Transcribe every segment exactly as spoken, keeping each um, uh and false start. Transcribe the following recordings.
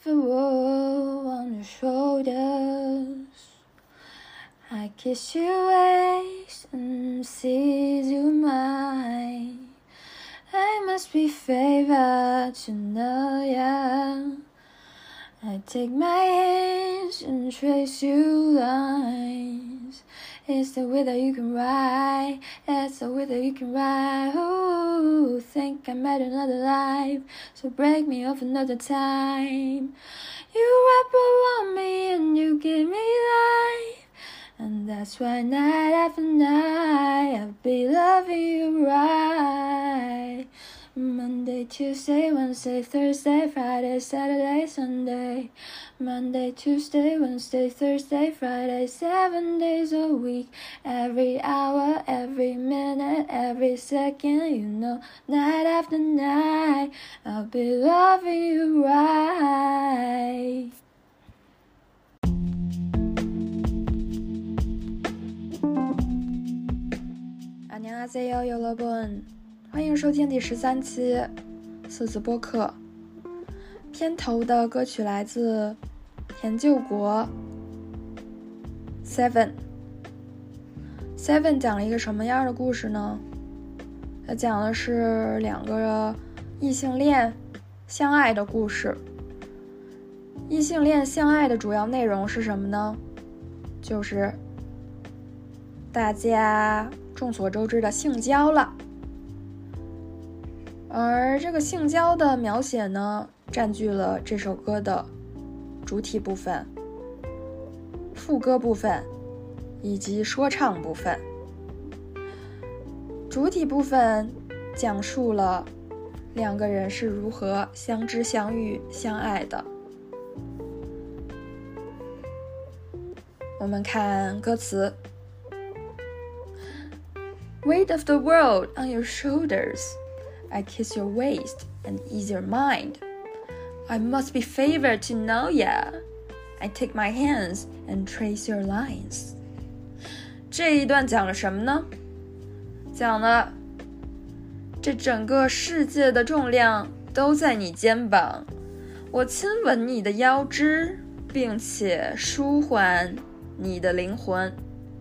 the world on your shoulders. I kiss your waist and seize your mind. I must be favored to know ya. I take my hands and trace your lines. It's the way that you can ride, it's the way that you can ride. Ooh, think I met another life, so break me off another time. You wrap around me and you give me life, and that's why night after night I'll be loving you right. Monday, Tuesday, Wednesday, Thursday, Friday, Saturday, Sunday. Monday, Tuesday, Wednesday, Thursday, Friday, seven days a week. Every hour, every minute, every second, you know, night after night I'll be loving you right. 안녕하세요, 여러분.欢迎收听第十三期四字播客。片头的歌曲来自田救国 Seven。 Seven 讲了一个什么样的故事呢？它讲的是两个异性恋相爱的故事。异性恋相爱的主要内容是什么呢？就是大家众所周知的性交了。而这个性交的描写呢，占据了这首歌的主体部分、副歌部分以及说唱部分。主体部分讲述了两个人是如何相知相遇相爱的。我们看歌词。 Weight of the world on your shoulders.I kiss your waist and ease your mind. I must be favored to know ya. I take my hands and trace your lines. 这一段讲了什么呢？讲了这整个世界的重量都在你肩膀，我亲吻你的腰肢，并且舒缓你的灵魂。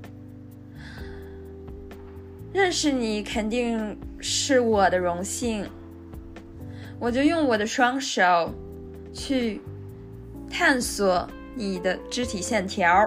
认识你肯定是我的荣幸，我就用我的双手去探索你的肢体线条。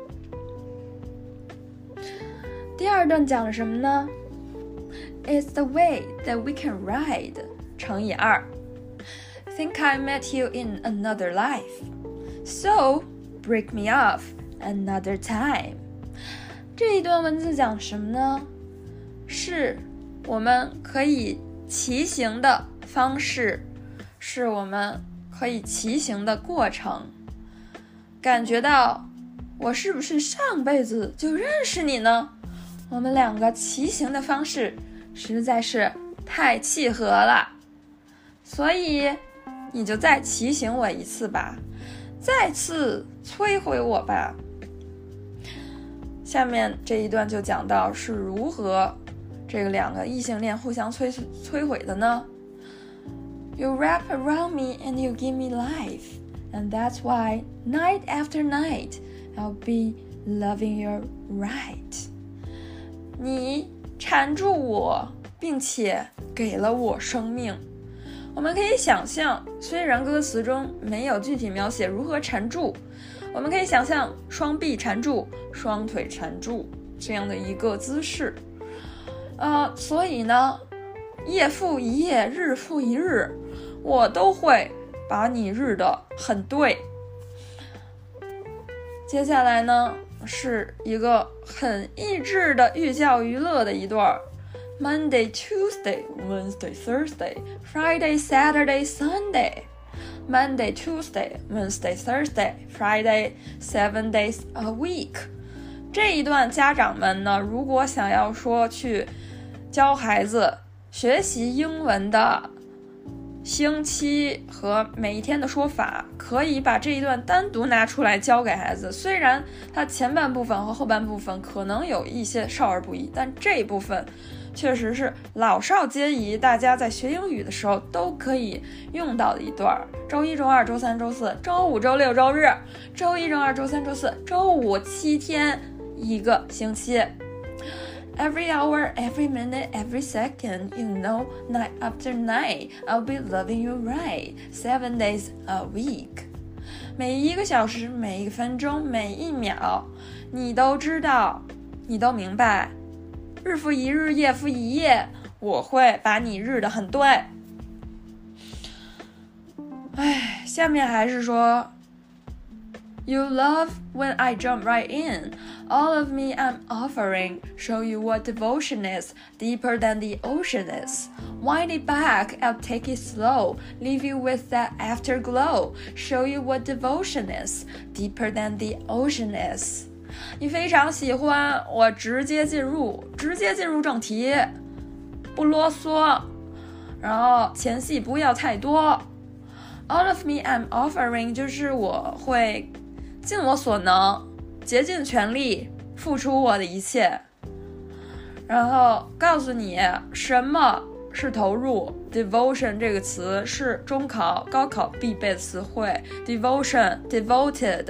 第二段讲了什么呢？ It's the way that we can ride 乘以二。 Think I met you in another life, so break me off another time。 这一段文字讲什么呢？是我们可以骑行的方式，是我们可以骑行的过程。感觉到我是不是上辈子就认识你呢？我们两个骑行的方式实在是太契合了，所以你就再骑行我一次吧，再次摧毁我吧。下面这一段就讲到是如何这个两个异性恋互相摧摧毁的呢？ You wrap around me and you give me life, and that's why night after night I'll be loving you right。 你缠住我，并且给了我生命。我们可以想象，虽然歌词中没有具体描写如何缠住，我们可以想象双臂缠住、双腿缠住这样的一个姿势。呃，所以呢，夜复一夜，日复一日，我都会把你日得很对。接下来呢，是一个很益智的寓教于乐的一段。Monday, Tuesday, Wednesday, Thursday, Friday, Saturday, Sunday. Monday, Tuesday, Wednesday, Thursday, Friday, seven days a week. 这一段家长们呢，如果想要说去教孩子学习英文的星期和每一天的说法，可以把这一段单独拿出来教给孩子。虽然它前半部分和后半部分可能有一些少儿不宜，但这一部分确实是老少皆宜，大家在学英语的时候都可以用到的一段。周一、周二、周三、周四、周五、周六、周日，周一、周二、周三、周四、周五，七天一个星期。Every hour, every minute, every second, you know, night after night, I'll be loving you right, seven days a week. 每一个小时，每一个分钟，每一秒，你都知道，你都明白，日复一日，夜复一夜，我会把你日得很对。哎，下面还是说 You love when I jump right in. All of me I'm offering. Show you what devotion is, deeper than the ocean is. Wind it back, I'll take it slow. Leave you with that afterglow. Show you what devotion is, deeper than the ocean is. 你非常喜欢，我直接进入，直接进入正题，不啰嗦，然后前戏不要太多。All of me I'm offering 就是我会尽我所能，竭尽全力付出我的一切，然后告诉你什么是投入。 Devotion 这个词是中考高考必备的词汇。 Devotion devoted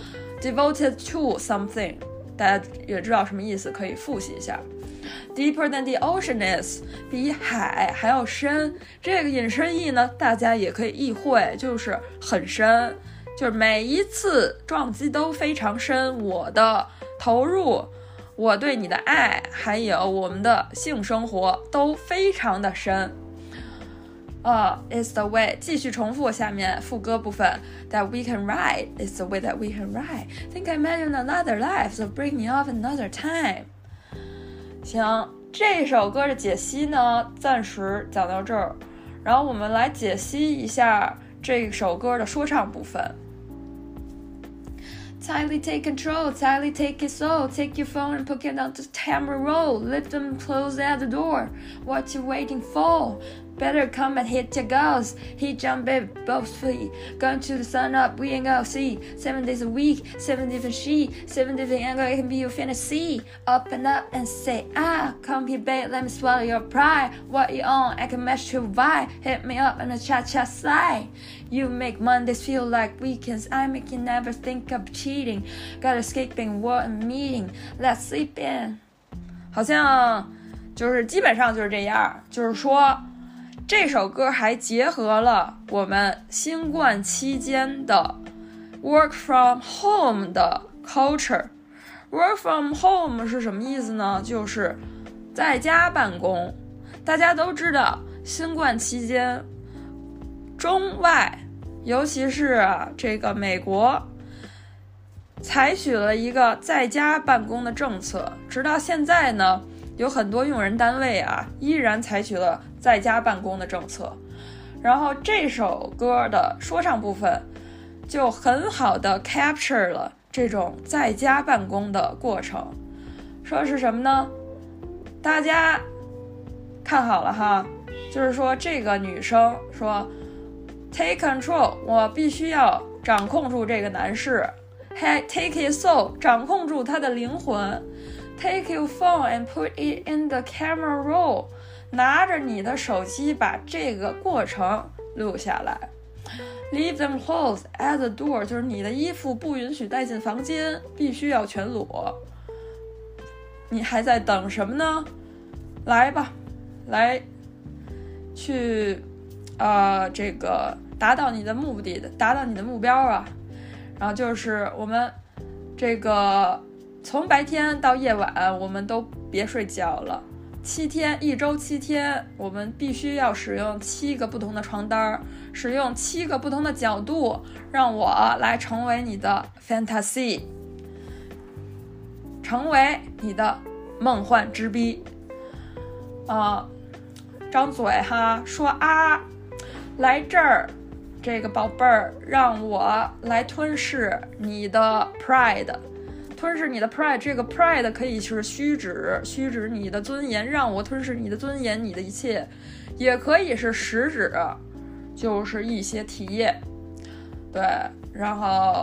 devoted to something， 大家也知道什么意思，可以复习一下。 Deeper than the ocean is 比海还要深，这个引申义呢大家也可以意会，就是很深，就是每一次撞击都非常深，我的投入，我对你的爱，还有我们的性生活都非常的深。Uh, it's the way 继续重复下面副歌部分 That we can ride, it's the way that we can ride. Think I imagine another life, so bring me off another time. 行，这首歌的解析呢暂时讲到这儿，然后我们来解析一下这首歌的说唱部分。Tightly take control, tightly take it slow. Take your phone and put it on the camera roll. Lift them close at the door. What you waiting for? Better come and hit your goals. He jump it both feet. Going to the sun up, we ain't gonna see. Seven days a week, seven different she, seven different angle, it can be your fantasy. Up and up and say, ah, come here, babe, let me swallow your pride. What you on? I can match your vibe. Hit me up on a cha-cha slide. You make Mondays feel like weekends. I make you never think of cheating. Got escaping war and meeting. Let's sleep in. 好像就是基本上就是这样，就是说这首歌还结合了我们新冠期间的 work from home 的 culture。 work from home 是什么意思呢？就是在家办公。大家都知道新冠期间中外尤其是这个美国采取了一个在家办公的政策，直到现在呢有很多用人单位啊依然采取了在家办公的政策。然后这首歌的说唱部分就很好的 capture 了这种在家办公的过程。说是什么呢？大家看好了哈，就是说这个女生说 take control， 我必须要掌控住这个男士。 take his soul， 掌控住他的灵魂。Take your phone and put it in the camera roll， 拿着你的手机把这个过程录下来。Leave them clothes at the door， 就是你的衣服不允许带进房间，必须要全裸。你还在等什么呢？来吧，来去呃这个达到你的目的的，达到你的目标啊。然后就是我们这个从白天到夜晚我们都别睡觉了，七天一周七天我们必须要使用七个不同的床单，使用七个不同的角度，让我来成为你的 fantasy， 成为你的梦幻之逼啊！张嘴哈说啊，来这儿这个宝贝儿，让我来吞噬你的 pride， 吞噬你的 pride， 这个 pride 可以是虚指，虚指你的尊严，让我吞噬你的尊严，你的一切，也可以是实指，就是一些体液。对，然后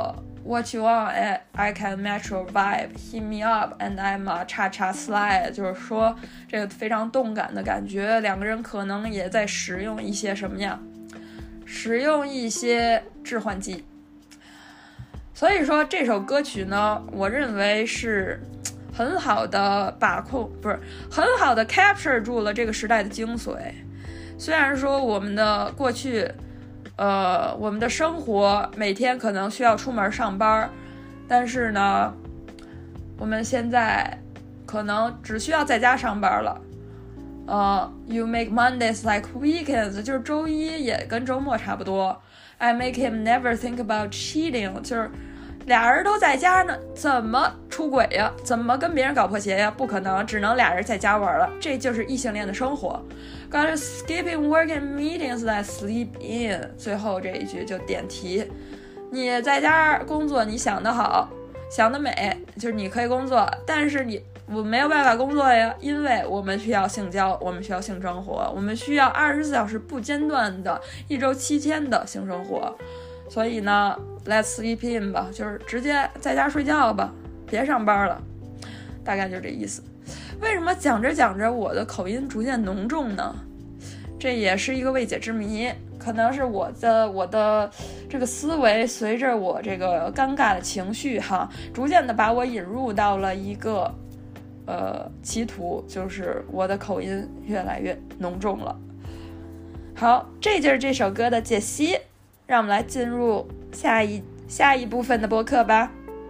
What you want, I can match your vibe. Hit me up and I'm a cha-cha slide. 就是说这个非常动感的感觉，两个人可能也在使用一些什么呀？使用一些致幻剂。所以说这首歌曲呢，我认为是很好的把控，不是很好的 capture 住了这个时代的精髓。虽然说我们的过去呃，我们的生活每天可能需要出门上班，但是呢我们现在可能只需要在家上班了。呃 You make Mondays like weekends， 就是周一也跟周末差不多。I make him never think about cheating， 就是俩人都在家呢，怎么出轨呀？怎么跟别人搞破鞋呀？不可能，只能俩人在家玩了。这就是异性恋的生活。Gotta skipping work and meetings that sleep in。最后这一句就点题，你在家工作，你想得好，想得美，就是你可以工作，但是你我没有办法工作呀，因为我们需要性交，我们需要性生活，我们需要二十四小时不间断的一周七天的性生活。所以呢 let's sleep in 吧，就是直接在家睡觉吧，别上班了，大概就这意思。为什么讲着讲着我的口音逐渐浓重呢？这也是一个未解之谜，可能是我的我的这个思维随着我这个尴尬的情绪哈，逐渐的把我引入到了一个呃歧途，就是我的口音越来越浓重了。好，这就是这首歌的解析，让我们来进入下一下一部分的播客吧。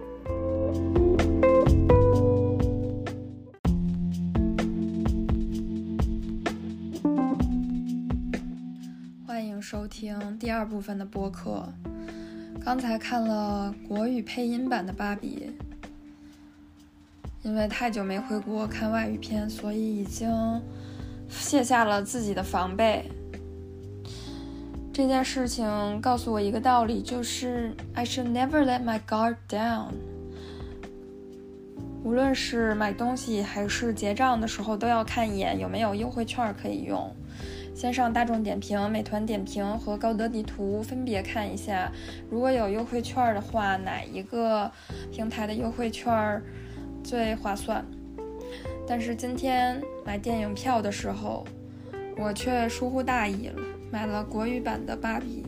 欢迎收听第二部分的播客。刚才看了国语配音版的芭比，因为太久没回国看外语片，所以已经卸下了自己的防备。这件事情告诉我一个道理，就是 I should never let my guard down。 无论是买东西还是结账的时候，都要看一眼有没有优惠券可以用。先上大众点评、美团点评和高德地图分别看一下，如果有优惠券的话，哪一个平台的优惠券最划算。但是今天买电影票的时候，我却疏忽大意了，买了国语版的芭比。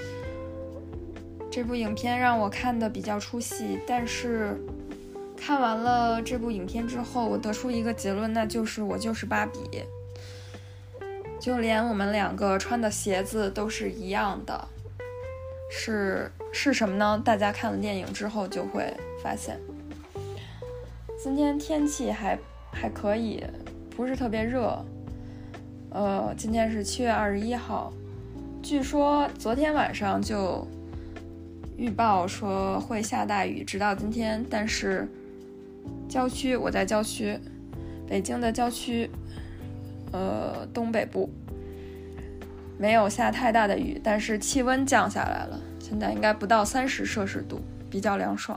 这部影片让我看得比较出戏，但是看完了这部影片之后，我得出一个结论，那就是我就是芭比。就连我们两个穿的鞋子都是一样的。是是什么呢？大家看了电影之后就会发现。今天天气还还可以，不是特别热。呃，今天是七月二十一号，据说昨天晚上就预报说会下大雨，直到今天。但是郊区，我在郊区，北京的郊区，呃，东北部没有下太大的雨，但是气温降下来了，现在应该不到三十摄氏度，比较凉爽。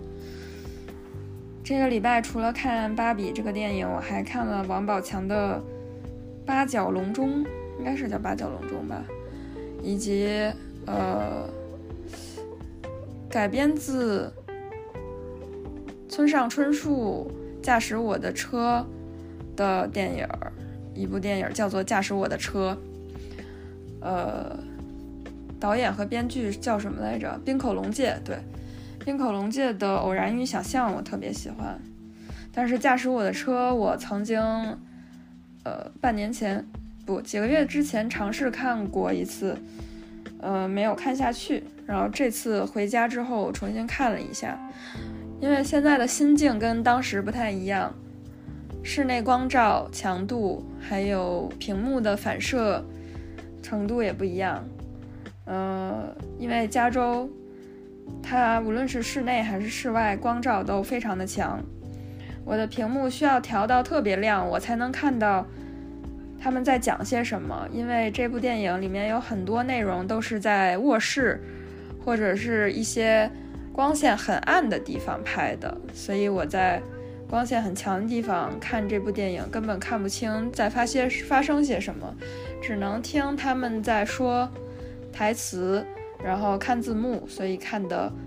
这个礼拜除了看芭比这个电影，我还看了王宝强的八角笼中，应该是叫八角笼中吧，以及呃改编自村上春树驾驶我的车的电影，一部电影叫做驾驶我的车，呃导演和编剧叫什么来着？滨口龙介。对，滨口龙介的偶然与想象我特别喜欢，但是驾驶我的车我曾经呃半年前不几个月之前尝试看过一次，呃没有看下去，然后这次回家之后我重新看了一下，因为现在的心境跟当时不太一样，室内光照强度还有屏幕的反射程度也不一样。呃因为加州它无论是室内还是室外光照都非常的强，我的屏幕需要调到特别亮，我才能看到他们在讲些什么。因为这部电影里面有很多内容都是在卧室或者是一些光线很暗的地方拍的，所以我在光线很强的地方看这部电影根本看不清在发些发生些什么，只能听他们在说台词，然后看字幕，所以看得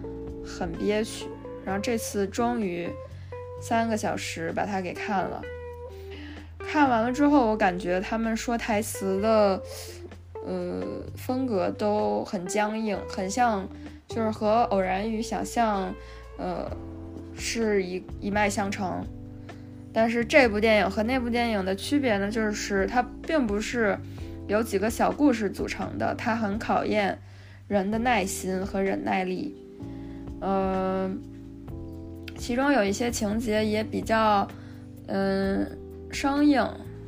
很憋屈。然后这次终于三个小时把它给看了。看完了之后，我感觉他们说台词的呃风格都很僵硬，很像就是和偶然与想象呃是一一脉相承。但是这部电影和那部电影的区别呢，就是它并不是由几个小故事组成的，它很考验人的耐心和忍耐力。呃其中有一些情节也比较嗯生硬，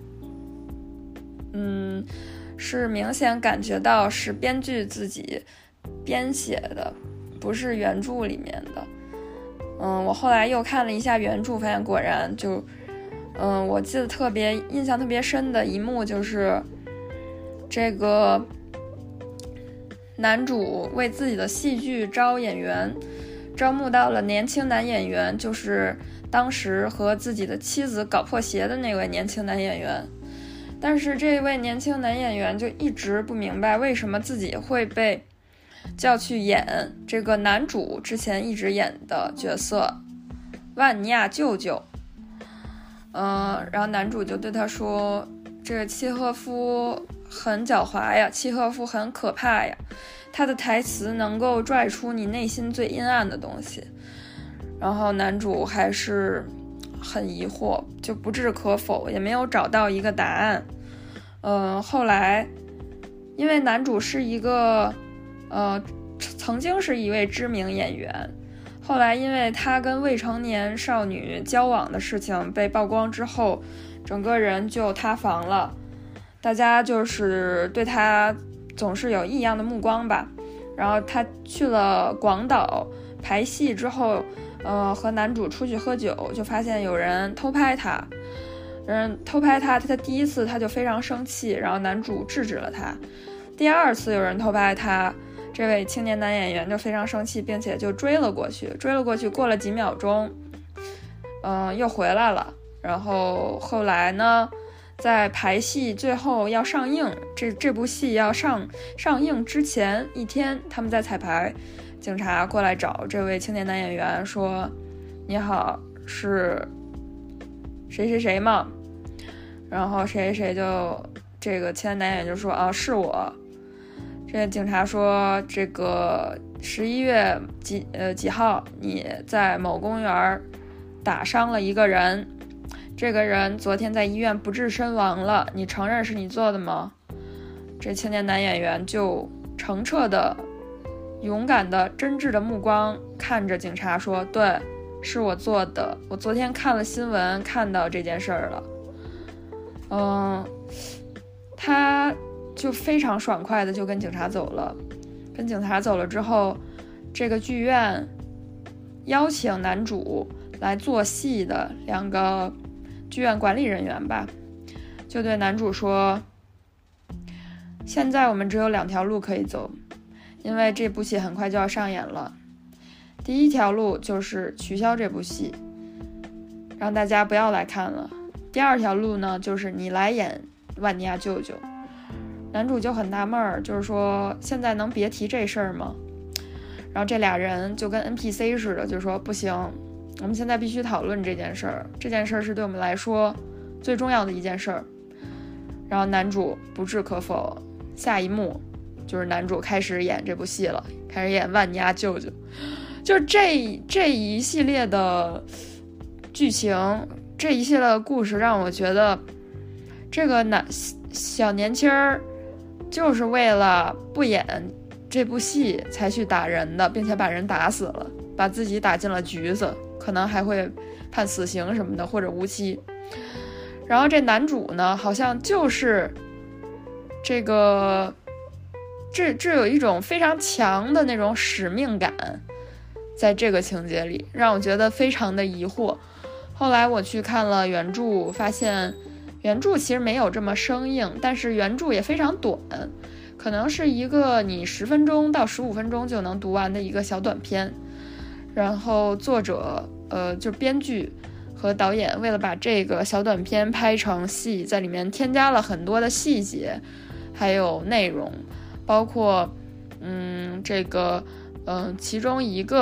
嗯，是明显感觉到是编剧自己编写的，不是原著里面的。嗯，我后来又看了一下原著，发现果然就，嗯，我记得特别印象特别深的一幕就是这个男主为自己的戏剧招演员，招募到了年轻男演员，就是当时和自己的妻子搞破鞋的那位年轻男演员。但是这位年轻男演员就一直不明白为什么自己会被叫去演这个男主之前一直演的角色万尼亚舅舅。嗯，然后男主就对他说，这个契诃夫很狡猾呀，契诃夫很可怕呀，他的台词能够拽出你内心最阴暗的东西。然后男主还是很疑惑，就不置可否，也没有找到一个答案。嗯，后来因为男主是一个呃曾经是一位知名演员，后来因为他跟未成年少女交往的事情被曝光之后，整个人就塌房了，大家就是对他总是有异样的目光吧。然后他去了广岛排戏之后，呃，和男主出去喝酒，就发现有人偷拍他，人偷拍他，他第一次他就非常生气，然后男主制止了他。第二次有人偷拍他，这位青年男演员就非常生气，并且就追了过去，追了过去，过了几秒钟，嗯、呃，又回来了。然后后来呢，在排戏最后要上映，这这部戏要上上映之前一天，他们在彩排，警察过来找这位青年男演员说，你好，是谁谁谁吗？然后谁谁谁就这个青年男演员就说，啊，是我。这个警察说，这个十一月几呃几号你在某公园打伤了一个人，这个人昨天在医院不治身亡了，你承认是你做的吗？这青年男演员就澄澈的勇敢的真挚的目光看着警察说，对，是我做的，我昨天看了新闻看到这件事儿了。嗯，他就非常爽快的就跟警察走了。跟警察走了之后，这个剧院邀请男主来做戏的两个剧院管理人员吧，就对男主说，现在我们只有两条路可以走，因为这部戏很快就要上演了。第一条路就是取消这部戏，让大家不要来看了。第二条路呢，就是你来演万尼亚舅舅。男主就很纳闷儿，就是说现在能别提这事儿吗？然后这俩人就跟 N P C 似的，就说不行，我们现在必须讨论这件事儿，这件事儿是对我们来说最重要的一件事儿。然后男主不置可否，下一幕就是男主开始演这部戏了，开始演万尼亚舅舅。就是这这一系列的剧情，这一系列的故事让我觉得这个男小年轻儿就是为了不演这部戏才去打人的，并且把人打死了，把自己打进了局子，可能还会判死刑什么的，或者无期。然后这男主呢，好像就是这个这这有一种非常强的那种使命感，在这个情节里让我觉得非常的疑惑。后来我去看了原著，发现原著其实没有这么生硬，但是原著也非常短，可能是一个你十分钟到十五分钟就能读完的一个小短片。然后作者呃，就编剧和导演为了把这个小短片拍成戏，在里面添加了很多的细节还有内容，包括嗯这个嗯、呃、其中一个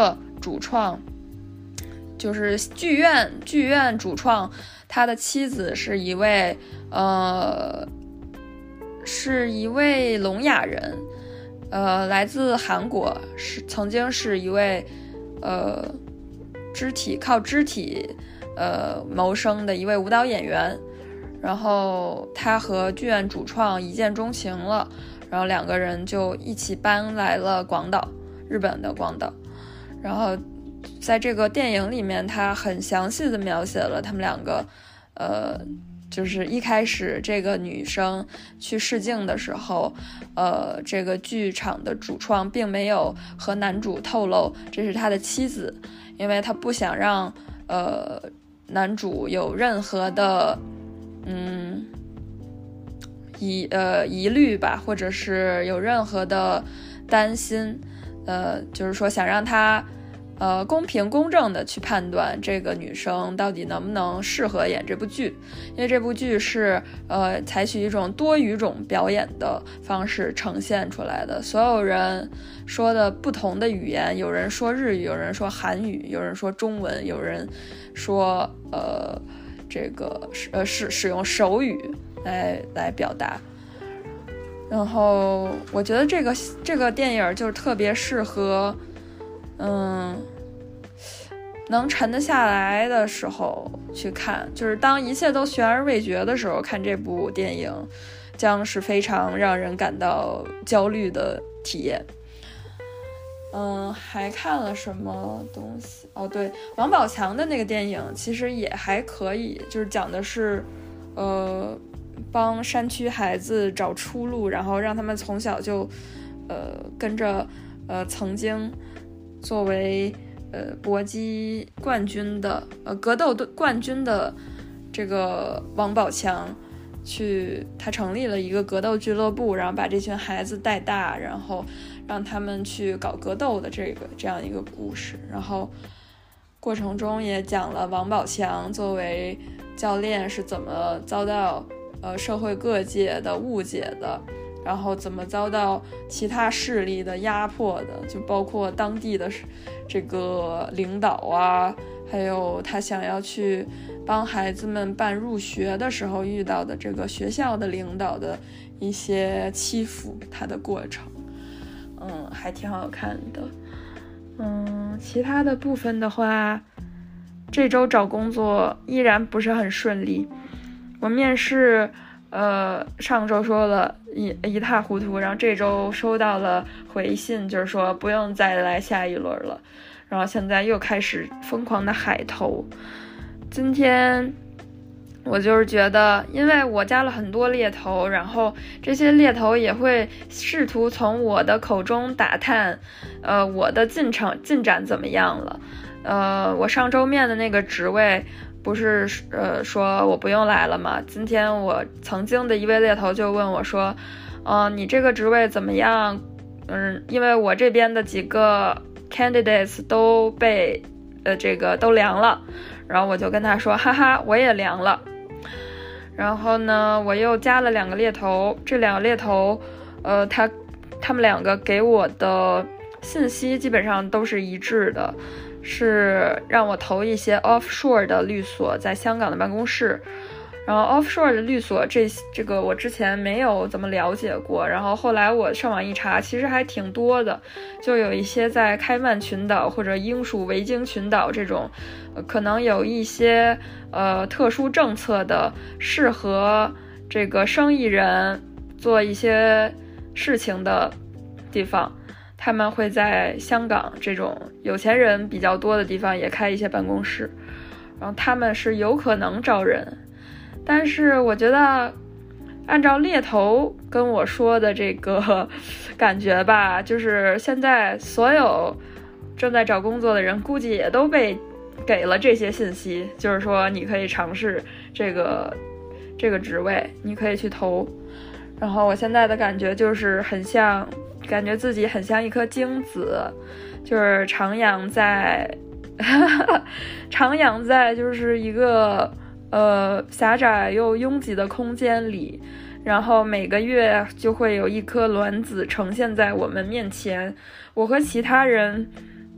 主创，就是剧院剧院主创，他的妻子是一位呃是一位聋哑人，呃来自韩国，是曾经是一位呃肢体靠肢体呃谋生的一位舞蹈演员。然后他和剧院主创一见钟情了，然后两个人就一起搬来了广岛，日本的广岛。然后在这个电影里面，他很详细的描写了他们两个呃就是一开始这个女生去试镜的时候，呃这个剧场的主创并没有和男主透露这是他的妻子，因为他不想让呃男主有任何的嗯，疑呃疑虑吧，或者是有任何的担心，呃，就是说想让他呃公平公正的去判断这个女生到底能不能适合演这部剧，因为这部剧是呃采取一种多语种表演的方式呈现出来的，所有人说的不同的语言，有人说日语，有人说韩语，有人说中文，有人说呃。这个呃使使用手语来来表达，然后我觉得这个这个电影就是特别适合，嗯，能沉得下来的时候去看，就是当一切都悬而未决的时候看这部电影，将是非常让人感到焦虑的体验。嗯，还看了什么东西？哦，对，王宝强的那个电影其实也还可以，就是讲的是，呃，帮山区孩子找出路，然后让他们从小就，呃，跟着，呃，曾经作为呃搏击冠军的，呃格斗冠军的这个王宝强，去他成立了一个格斗俱乐部，然后把这群孩子带大，然后让他们去搞格斗的这个这样一个故事，然后过程中也讲了王宝强作为教练是怎么遭到呃社会各界的误解的，然后怎么遭到其他势力的压迫的，就包括当地的这个领导啊，还有他想要去帮孩子们办入学的时候遇到的这个学校的领导的一些欺负他的过程。嗯，还挺好看的。嗯，其他的部分的话，这周找工作依然不是很顺利。我面试，呃，上周说了一一塌糊涂，然后这周收到了回信，就是说不用再来下一轮了。然后现在又开始疯狂的海投。今天我就是觉得，因为我加了很多猎头，然后这些猎头也会试图从我的口中打探，呃，我的进程进展怎么样了。呃，我上周面的那个职位不是呃说我不用来了吗？今天我曾经的一位猎头就问我说，呃，你这个职位怎么样？嗯，因为我这边的几个 candidates 都被呃这个都凉了，然后我就跟他说，哈哈，我也凉了。然后呢，我又加了两个猎头，这两个猎头，呃，他他们两个给我的信息基本上都是一致的，是让我投一些 offshore 的律所在香港的办公室。然后 offshore 的律所这这个我之前没有怎么了解过，然后后来我上网一查，其实还挺多的，就有一些在开曼群岛或者英属维京群岛这种，呃、可能有一些呃特殊政策的，适合这个生意人做一些事情的地方，他们会在香港这种有钱人比较多的地方也开一些办公室，然后他们是有可能招人。但是我觉得按照猎头跟我说的这个感觉吧，就是现在所有正在找工作的人估计也都被给了这些信息，就是说你可以尝试这个这个职位，你可以去投。然后我现在的感觉就是很像，感觉自己很像一颗精子，就是徜徉在徜徉在就是一个呃，狭窄又拥挤的空间里，然后每个月就会有一颗卵子呈现在我们面前，我和其他人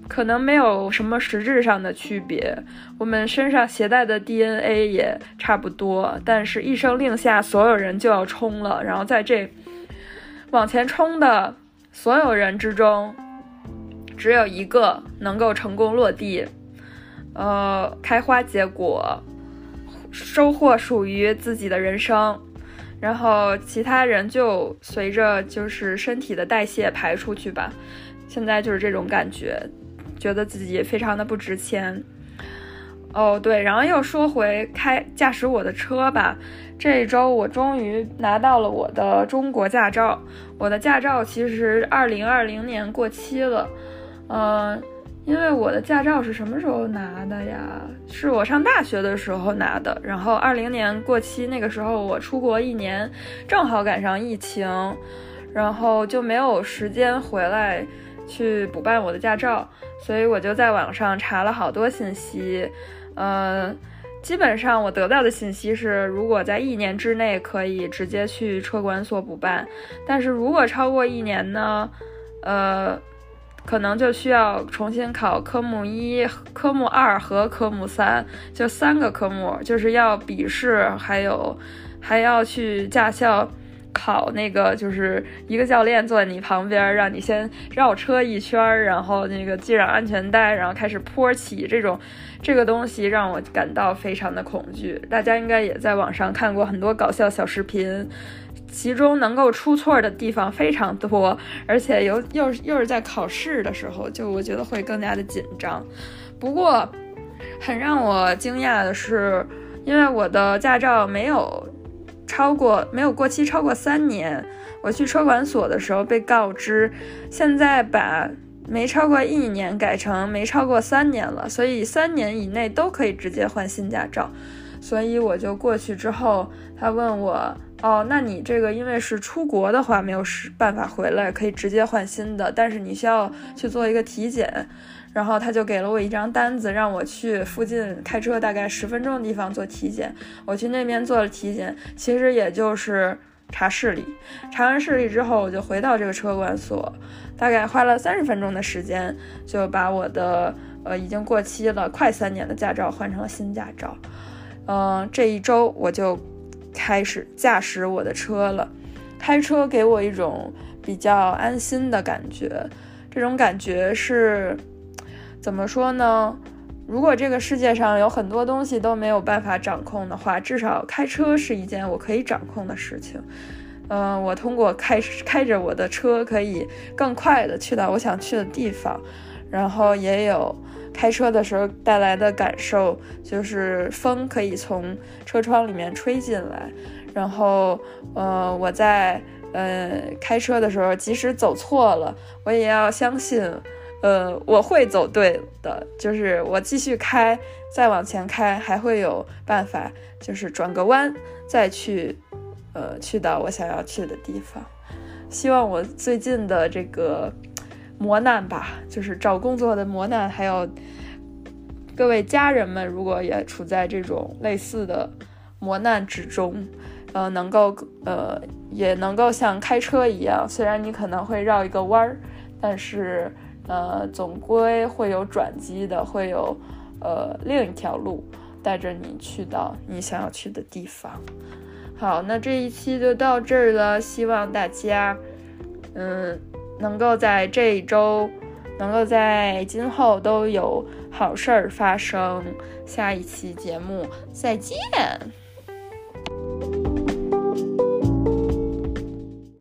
可能没有什么实质上的区别，我们身上携带的 D N A 也差不多，但是一声令下，所有人就要冲了，然后在这往前冲的所有人之中，只有一个能够成功落地，呃，开花结果，收获属于自己的人生，然后其他人就随着就是身体的代谢排出去吧。现在就是这种感觉，觉得自己非常的不值钱。哦，对，然后又说回开驾驶我的车吧。这一周我终于拿到了我的中国驾照。我的驾照其实二零二零年过期了，嗯、呃，因为我的驾照是什么时候拿的呀？是我上大学的时候拿的，然后二零年过期，那个时候我出国一年，正好赶上疫情，然后就没有时间回来去补办我的驾照，所以我就在网上查了好多信息，呃，基本上我得到的信息是，如果在一年之内可以直接去车管所补办，但是如果超过一年呢，呃，可能就需要重新考科目一、科目二和科目三，就三个科目，就是要笔试，还有还要去驾校考那个，就是一个教练坐在你旁边，让你先绕车一圈，然后那个系上安全带，然后开始坡起，这种这个东西让我感到非常的恐惧。大家应该也在网上看过很多搞笑小视频，其中能够出错的地方非常多，而且又又又是在考试的时候，就我觉得会更加的紧张。不过很让我惊讶的是，因为我的驾照没有超过没有过期超过三年，我去车管所的时候被告知，现在把没超过一年改成没超过三年了，所以三年以内都可以直接换新驾照。所以我就过去之后，他问我，哦，那你这个因为是出国的话没有办法回来，可以直接换新的，但是你需要去做一个体检。然后他就给了我一张单子，让我去附近开车大概十分钟的地方做体检。我去那边做了体检，其实也就是查视力。查完视力之后，我就回到这个车管所，大概花了三十分钟的时间，就把我的呃已经过期了快三年的驾照换成了新驾照。嗯、呃，这一周我就开始驾驶我的车了。开车给我一种比较安心的感觉，这种感觉是怎么说呢？如果这个世界上有很多东西都没有办法掌控的话，至少开车是一件我可以掌控的事情。嗯、呃，我通过开开着我的车，可以更快的去到我想去的地方。然后也有开车的时候带来的感受，就是风可以从车窗里面吹进来。然后，呃，我在呃开车的时候，即使走错了，我也要相信。呃，我会走对的，就是我继续开，再往前开，还会有办法，就是转个弯，再去，呃，去到我想要去的地方。希望我最近的这个磨难吧，就是找工作的磨难，还有各位家人们，如果也处在这种类似的磨难之中，呃，能够，呃，也能够像开车一样，虽然你可能会绕一个弯儿，但是呃，总归会有转机的，会有呃另一条路带着你去到你想要去的地方。好，那这一期就到这儿了，希望大家嗯能够在这一周，能够在今后都有好事儿发生。下一期节目再见。